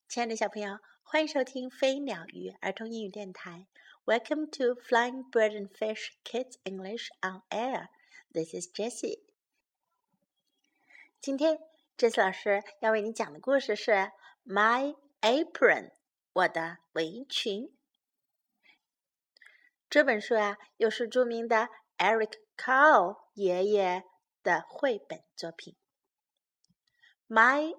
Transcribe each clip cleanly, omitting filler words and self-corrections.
亲爱的小朋友，欢迎收听飞鸟鱼儿童英语电台。Welcome to Flying Bird and Fish Kids English on Air. This is Jessie. 今天 Jessie 老师要为你讲的故事是 My Apron 我的围裙。这本书又是著名的 Eric Carle 爷爷的绘本作品。My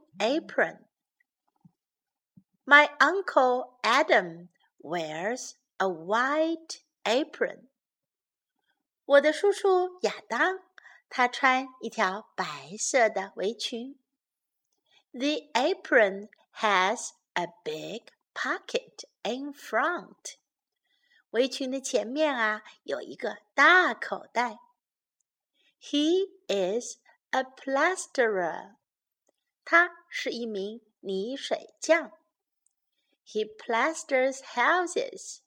Apron.My Uncle Adam wears a white apron. 我的叔叔亚当，他穿一条白色的围裙。The apron has a big pocket in front. 围裙的前面有一个大口袋。He is a plasterer. 他是一名泥水匠。He plasters houses,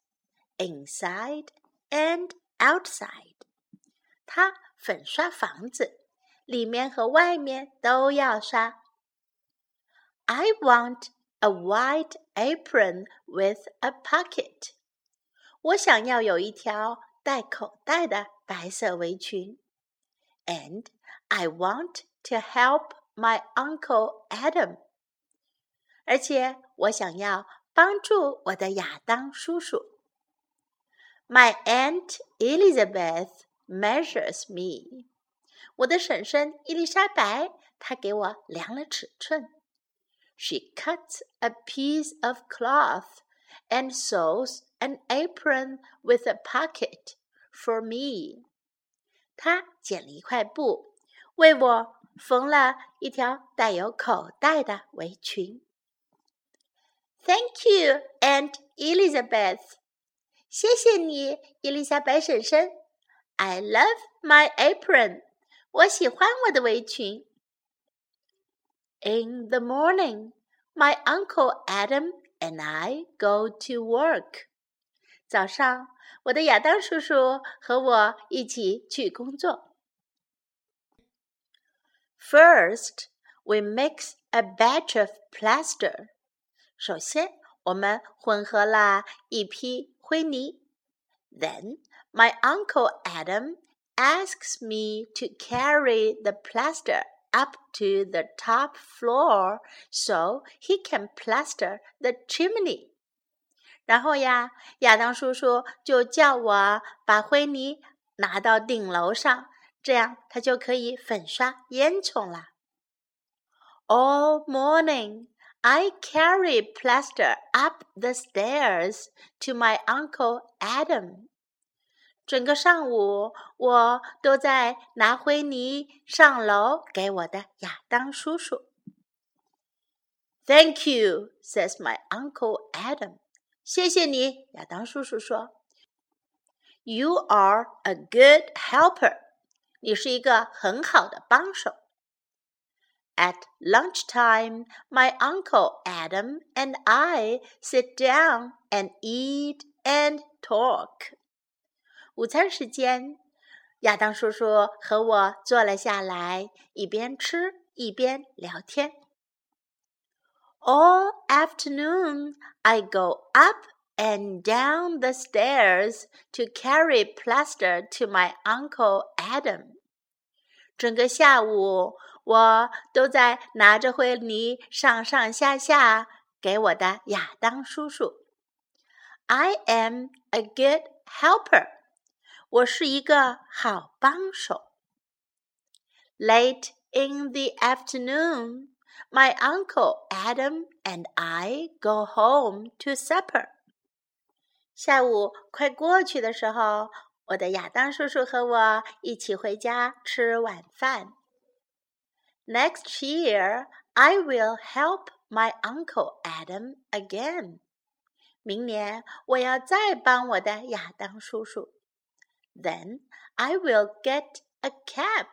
inside and outside. 他粉刷房子，里面和外面都要刷。I want a white apron with a pocket. 我想要有一条带口袋的白色围裙。And I want to help my Uncle Adam. 而且我想要帮助我的亚当叔叔。My Aunt Elizabeth measures me. 我的婶婶伊丽莎白，她给我量了尺寸。She cuts a piece of cloth and sews an apron with a pocket for me. 她剪了一块布，为我缝了一条带有口袋的围裙。Thank you, Aunt Elizabeth. 谢谢你，伊丽莎白婶婶。I love my apron. 我喜欢我的围裙。In the morning, my Uncle Adam and I go to work. 早上，我的亚当叔叔和我一起去工作。First, we mix a batch of plaster.首先，我们混合了一批灰泥。Then, my Uncle Adam asks me to carry the plaster up to the top floor so he can plaster the chimney. 然后亚当叔叔就叫我把灰泥拿到顶楼上，这样他就可以粉刷烟囱了。All morning,I carry plaster up the stairs to my Uncle Adam. 整个上午，我都在拿灰泥上楼给我的亚当叔叔。Thank you, says my Uncle Adam. 谢谢你，亚当叔叔说。You are a good helper. 你是一个很好的帮手。At lunchtime, my Uncle Adam and I sit down and eat and talk. 午餐时间，亚当叔叔和我坐了下来，一边吃一边聊天。All afternoon, I go up and down the stairs to carry plaster to my Uncle Adam. 整个下午，我都在拿着灰泥上下给我的亚当叔叔。I am a good helper. 我是一个好帮手。Late in the afternoon, my Uncle Adam and I go home to supper. 下午快过去的时候，我的亚当叔叔和我一起回家吃晚饭。Next year, I will help my Uncle Adam again. 明年我要再帮我的亚当叔叔。Then I will get a cap,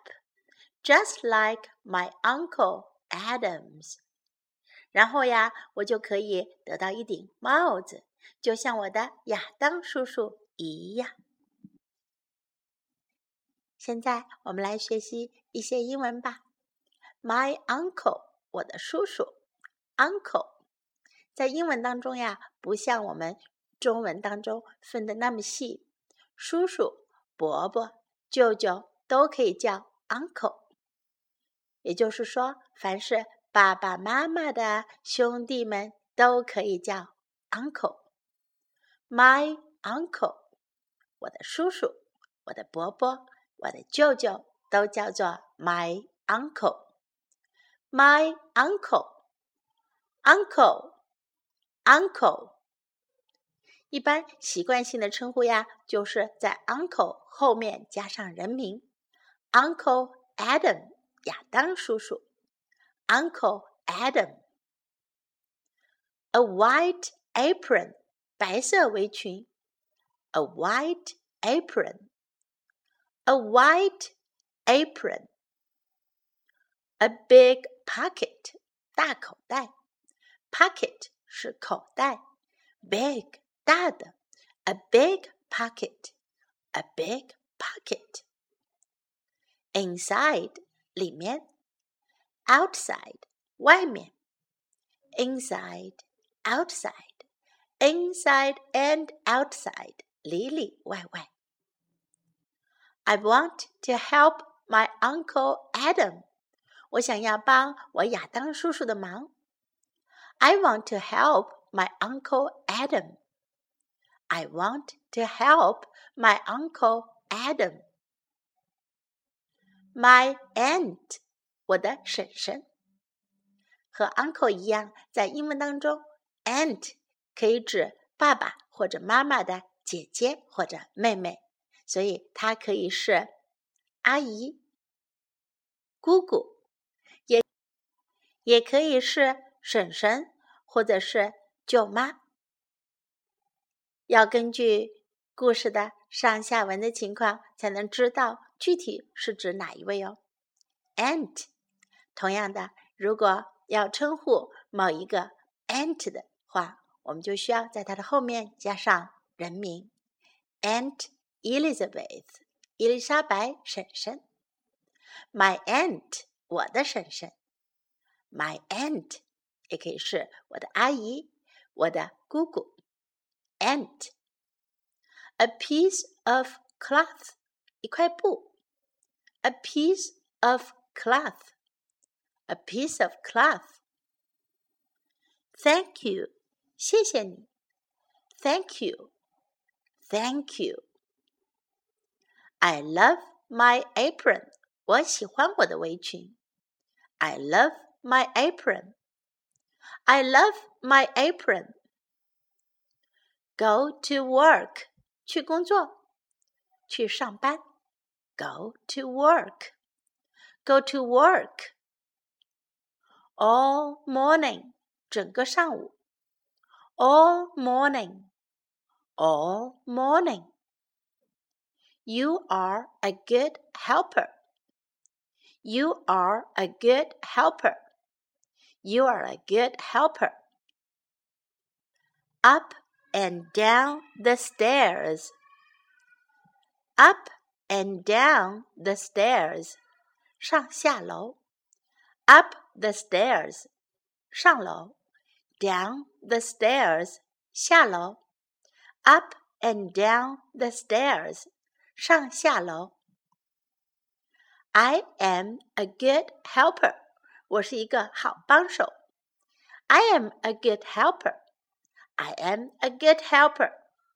just like my Uncle Adam's. 然后我就可以得到一顶帽子，就像我的亚当叔叔一样。现在我们来学习一些英文吧。My uncle, 我的叔叔 ，uncle， 在英文当中呀，不像我们中文当中分的那么细，叔叔、伯伯、舅舅都可以叫 uncle。也就是说，凡是爸爸妈妈的兄弟们都可以叫 uncle。My uncle， 我的叔叔、我的伯伯、我的舅舅都叫做 my uncle。My uncle，uncle，uncle。一般习惯性的称呼呀，就是在 uncle 后面加上人名 ，Uncle Adam， 亚当叔叔 ，Uncle Adam。A white apron， 白色围裙 ，A white apron，A white apron。A big pocket， 大口袋 ，pocket 是口袋 ，big 大的 ，a big pocket，a big pocket。Inside 里面 ，outside 外面 ，inside outside inside and outside 里里外外。I want to help my Uncle Adam， 我想要帮我亚当叔叔的忙。I want to help my Uncle Adam. I want to help my Uncle Adam. My aunt， 我的婶婶。和 uncle 一样，在英文当中 aunt 可以指爸爸或者妈妈的姐姐或者妹妹，所以它可以是阿姨、姑姑，也可以是婶婶或者是舅妈。要根据故事的上下文的情况，才能知道具体是指哪一位哦。aunt， 同样的，如果要称呼某一个 aunt 的话，我们就需要在它的后面加上人名 Aunt Elizabeth， 伊丽莎白婶婶。My aunt， 我的婶婶。My aunt 也可以是我的阿姨，我的姑姑。Aunt。 A piece of cloth， 一块布。A piece of cloth，A piece of cloth。 Thank you， 谢谢你。Thank you， Thank you。 I love my apron， 我喜欢我的围裙。I love my apron， I love my apron。 Go to work， 去工作，去上班。Go to work， Go to work。 All morning， 整个上午。All morning， All morning。 You are a good helper， You are a good helper， You are a good helper。 Up and down the stairs， Up and down the stairs， 上下楼。Up the stairs， 上楼。Down the stairs， 下楼。Up and down the stairs， 上下楼。I am a good helper， 我是一个好帮手。I am a good helper， I am a good helper。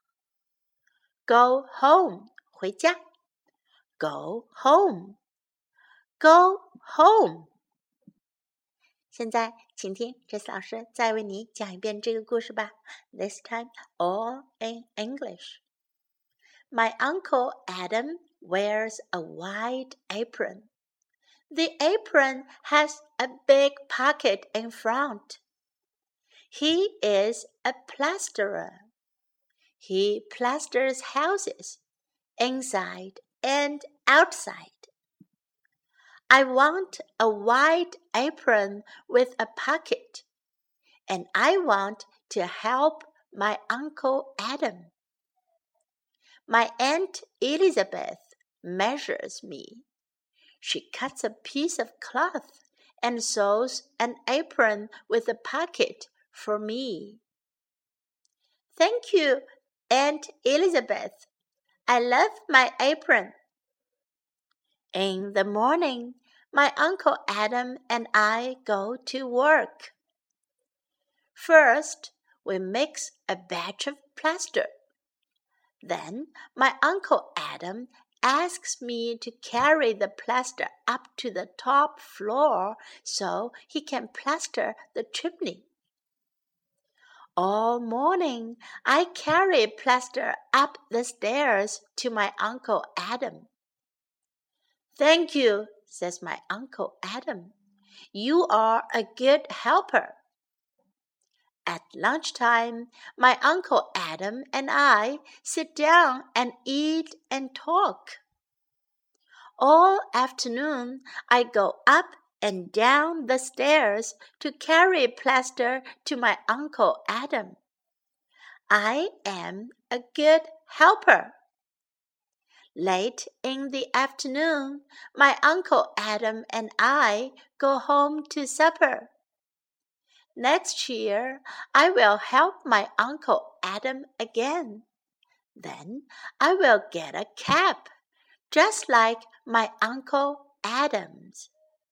Go home， 回家。Go home， Go home。 现在请听Jessie老师再为你讲一遍这个故事吧。This time all in English. My Uncle Adam wears a white apron. The apron has a big pocket in front. He is a plasterer. He plasters houses, inside and outside. I want a white apron with a pocket, and I want to help my Uncle Adam. My Aunt Elizabeth measures me. She cuts a piece of cloth and sews an apron with a pocket for me. Thank you, Aunt Elizabeth. I love my apron. In the morning, my Uncle Adam and I go to work. First, we mix a batch of plaster. Then my Uncle Adam asks me to carry the plaster up to the top floor so he can plaster the chimney. All morning, I carry plaster up the stairs to my Uncle Adam. Thank you, says my Uncle Adam. You are a good helper. At lunchtime, my Uncle Adam and I sit down and eat and talk. All afternoon, I go up and down the stairs to carry plaster to my Uncle Adam. I am a good helper. Late in the afternoon, my Uncle Adam and I go home to supper. Next year, I will help my Uncle Adam again. Then I will get a cap, just like my Uncle Adam's.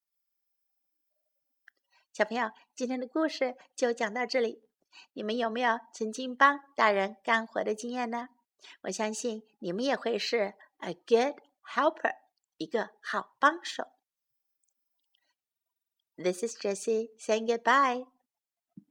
小朋友，今天的故事就讲到这里。你们有没有曾经帮大人干活的经验呢？我相信你们也会是 a good helper, 一个好帮手。This is Jessie saying goodbye.